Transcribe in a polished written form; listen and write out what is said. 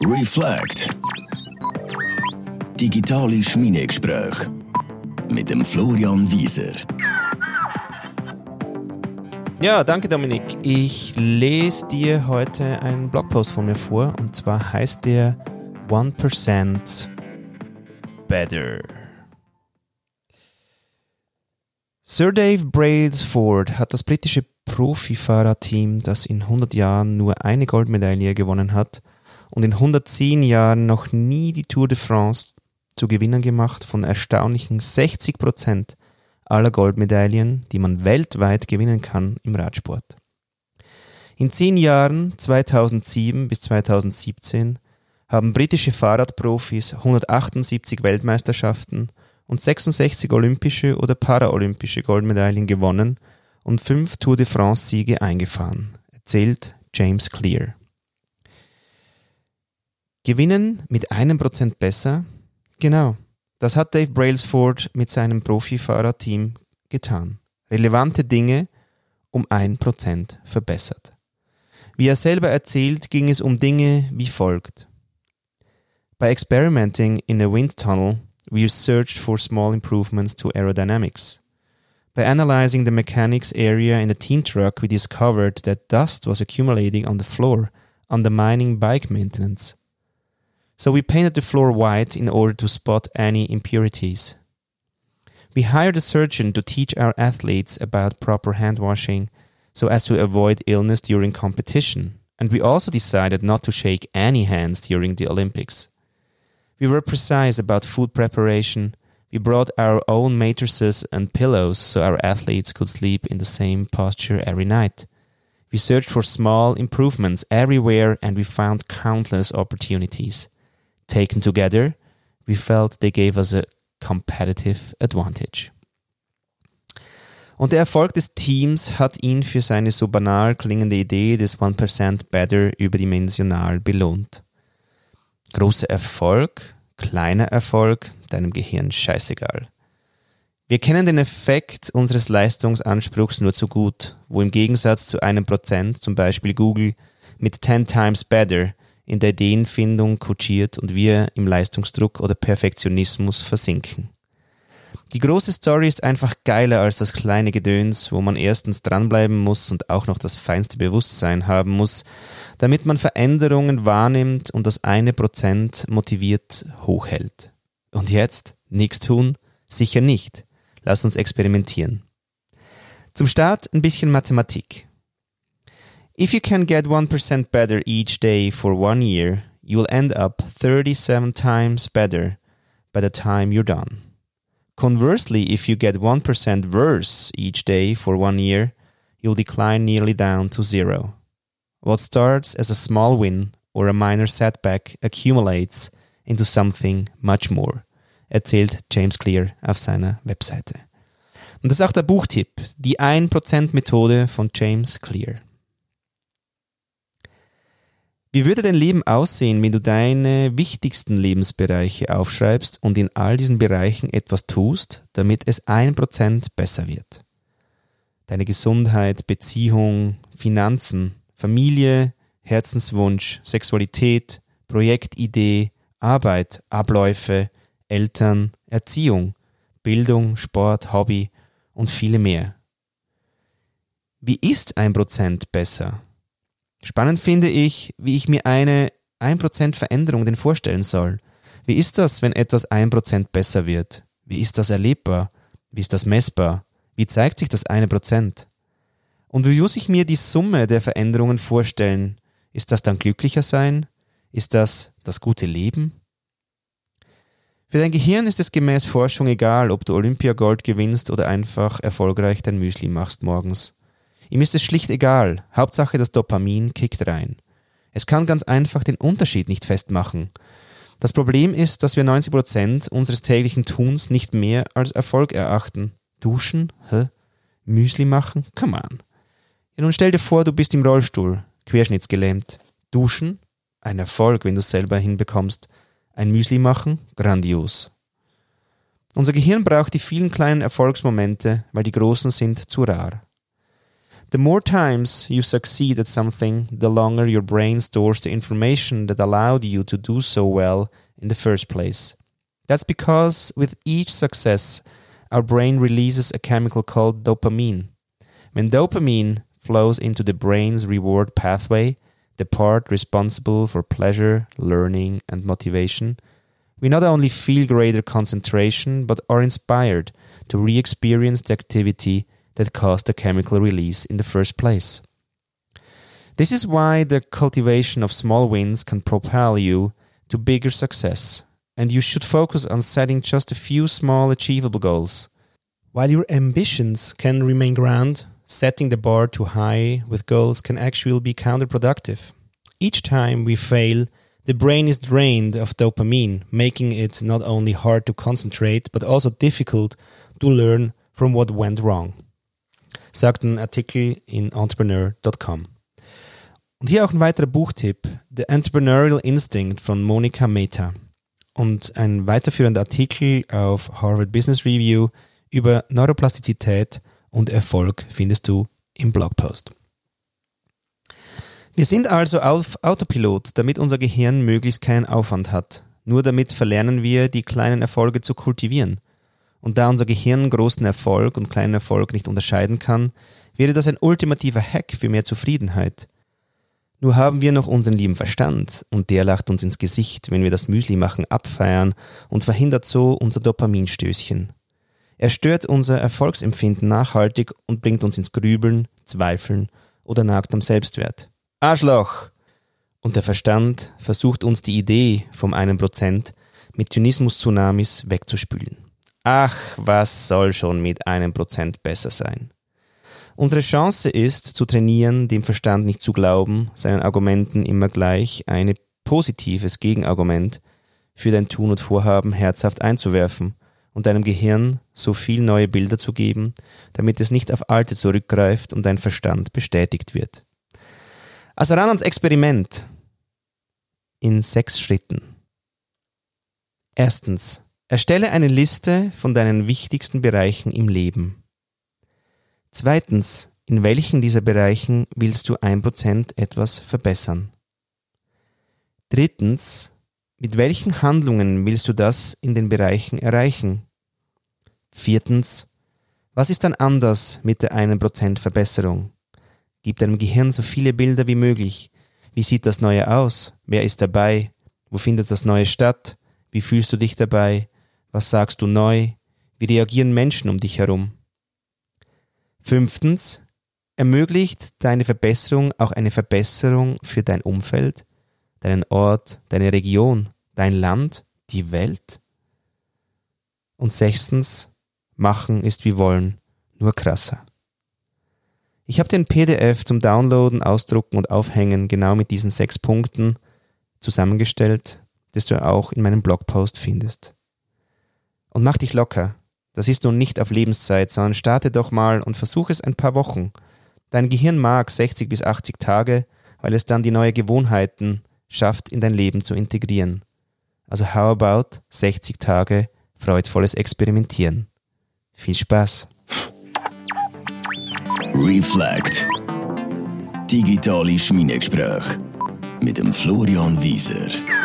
Reflect. Digitale Schmiedegespräche mit dem Florian Wieser. Ja, danke Dominik. Ich lese dir heute einen Blogpost von mir vor und zwar heißt der 1% Better. Sir Dave Brailsford hat das britische Profifahrerteam, das in 100 Jahren nur eine Goldmedaille gewonnen hat und in 110 Jahren noch nie die Tour de France zu Gewinnern gemacht, von erstaunlichen 60% aller Goldmedaillen, die man weltweit gewinnen kann im Radsport. In 10 Jahren, 2007 bis 2017, haben britische Fahrradprofis 178 Weltmeisterschaften und 66 olympische oder paraolympische Goldmedaillen gewonnen und 5 Tour de France-Siege eingefahren, erzählt James Clear. Gewinnen mit 1% besser? Genau, das hat Dave Brailsford mit seinem Profifahrerteam getan. Relevante Dinge um 1% verbessert. Wie er selber erzählt, ging es um Dinge wie folgt. By experimenting in a wind tunnel, we searched for small improvements to aerodynamics. By analyzing the mechanics area in the team truck, we discovered that dust was accumulating on the floor, undermining bike maintenance. So we painted the floor white in order to spot any impurities. We hired a surgeon to teach our athletes about proper hand washing so as to avoid illness during competition. And we also decided not to shake any hands during the Olympics. We were precise about food preparation. We brought our own mattresses and pillows so our athletes could sleep in the same posture every night. We searched for small improvements everywhere and we found countless opportunities. Taken together, we felt they gave us a competitive advantage. Und der Erfolg des Teams hat ihn für seine so banal klingende Idee des 1% Better überdimensional belohnt. Großer Erfolg, kleiner Erfolg, deinem Gehirn scheißegal. Wir kennen den Effekt unseres Leistungsanspruchs nur zu gut, wo im Gegensatz zu 1%, zum Beispiel Google, mit 10 times better in der Ideenfindung kutschiert und wir im Leistungsdruck oder Perfektionismus versinken. Die große Story ist einfach geiler als das kleine Gedöns, wo man erstens dranbleiben muss und auch noch das feinste Bewusstsein haben muss, damit man Veränderungen wahrnimmt und das 1% motiviert hochhält. Und jetzt? Nichts tun? Sicher nicht. Lass uns experimentieren. Zum Start ein bisschen Mathematik. If you can get 1% better each day for 1 year, you will end up 37 times better by the time you're done. Conversely, if you get 1% worse each day for 1 year, you'll decline nearly down to 0. What starts as a small win or a minor setback accumulates into something much more, erzählt James Clear auf seiner Webseite. Und das ist auch der Buchtipp, die 1%-Methode von James Clear. Wie würde dein Leben aussehen, wenn du deine wichtigsten Lebensbereiche aufschreibst und in all diesen Bereichen etwas tust, damit es 1% besser wird? Deine Gesundheit, Beziehung, Finanzen, Familie, Herzenswunsch, Sexualität, Projektidee, Arbeit, Abläufe, Eltern, Erziehung, Bildung, Sport, Hobby und viele mehr. Wie ist 1% besser? Spannend finde ich, wie ich mir eine 1% Veränderung denn vorstellen soll. Wie ist das, wenn etwas 1% besser wird? Wie ist das erlebbar? Wie ist das messbar? Wie zeigt sich das 1%? Und wie muss ich mir die Summe der Veränderungen vorstellen? Ist das dann glücklicher sein? Ist das das gute Leben? Für dein Gehirn ist es gemäß Forschung egal, ob du Olympiagold gewinnst oder einfach erfolgreich dein Müsli machst morgens. Ihm ist es schlicht egal, Hauptsache das Dopamin kickt rein. Es kann ganz einfach den Unterschied nicht festmachen. Das Problem ist, dass wir 90% unseres täglichen Tuns nicht mehr als Erfolg erachten. Duschen? Müsli machen? Come on. Ja, nun stell dir vor, du bist im Rollstuhl, querschnittsgelähmt. Duschen? Ein Erfolg, wenn du es selber hinbekommst. Ein Müsli machen? Grandios. Unser Gehirn braucht die vielen kleinen Erfolgsmomente, weil die großen sind zu rar. The more times you succeed at something, the longer your brain stores the information that allowed you to do so well in the first place. That's because with each success, our brain releases a chemical called dopamine. When dopamine flows into the brain's reward pathway, the part responsible for pleasure, learning, and motivation, we not only feel greater concentration, but are inspired to re-experience the activity that caused the chemical release in the first place. This is why the cultivation of small wins can propel you to bigger success, and you should focus on setting just a few small achievable goals. While your ambitions can remain grand, setting the bar too high with goals can actually be counterproductive. Each time we fail, the brain is drained of dopamine, making it not only hard to concentrate, but also difficult to learn from what went wrong. Sagt ein Artikel in Entrepreneur.com. Und hier auch ein weiterer Buchtipp, The Entrepreneurial Instinct von Monica Mehta. Und ein weiterführender Artikel auf Harvard Business Review über Neuroplastizität und Erfolg findest du im Blogpost. Wir sind also auf Autopilot, damit unser Gehirn möglichst keinen Aufwand hat. Nur damit verlernen wir, die kleinen Erfolge zu kultivieren. Und da unser Gehirn großen Erfolg und kleinen Erfolg nicht unterscheiden kann, wäre das ein ultimativer Hack für mehr Zufriedenheit. Nur haben wir noch unseren lieben Verstand und der lacht uns ins Gesicht, wenn wir das Müsli machen abfeiern und verhindert so unser Dopaminstößchen. Er stört unser Erfolgsempfinden nachhaltig und bringt uns ins Grübeln, Zweifeln oder nagt am Selbstwert. Arschloch! Und der Verstand versucht uns die Idee vom 1% mit Zynismus-Tsunamis wegzuspülen. Ach, was soll schon mit 1% besser sein? Unsere Chance ist, zu trainieren, dem Verstand nicht zu glauben, seinen Argumenten immer gleich ein positives Gegenargument für dein Tun und Vorhaben herzhaft einzuwerfen und deinem Gehirn so viel neue Bilder zu geben, damit es nicht auf alte zurückgreift und dein Verstand bestätigt wird. Also ran ans Experiment in 6 Schritten. Erstens. Erstelle eine Liste von deinen wichtigsten Bereichen im Leben. Zweitens, in welchen dieser Bereichen willst du 1% etwas verbessern? Drittens, mit welchen Handlungen willst du das in den Bereichen erreichen? Viertens, was ist dann anders mit der 1% Verbesserung? Gib deinem Gehirn so viele Bilder wie möglich. Wie sieht das Neue aus? Wer ist dabei? Wo findet das Neue statt? Wie fühlst du dich dabei? Was sagst du neu? Wie reagieren Menschen um dich herum? 5. Ermöglicht deine Verbesserung auch eine Verbesserung für dein Umfeld, deinen Ort, deine Region, dein Land, die Welt? Und 6. Machen ist wie wollen, nur krasser. Ich habe den PDF zum Downloaden, Ausdrucken und Aufhängen genau mit diesen 6 Punkten zusammengestellt, das du auch in meinem Blogpost findest. Und mach dich locker. Das ist nun nicht auf Lebenszeit, sondern starte doch mal und versuch es ein paar Wochen. Dein Gehirn mag 60 bis 80 Tage, weil es dann die neuen Gewohnheiten schafft, in dein Leben zu integrieren. Also how about 60 Tage freudvolles Experimentieren. Viel Spaß! Reflect. Digitale Schmiedegespräche mit dem Florian Wieser.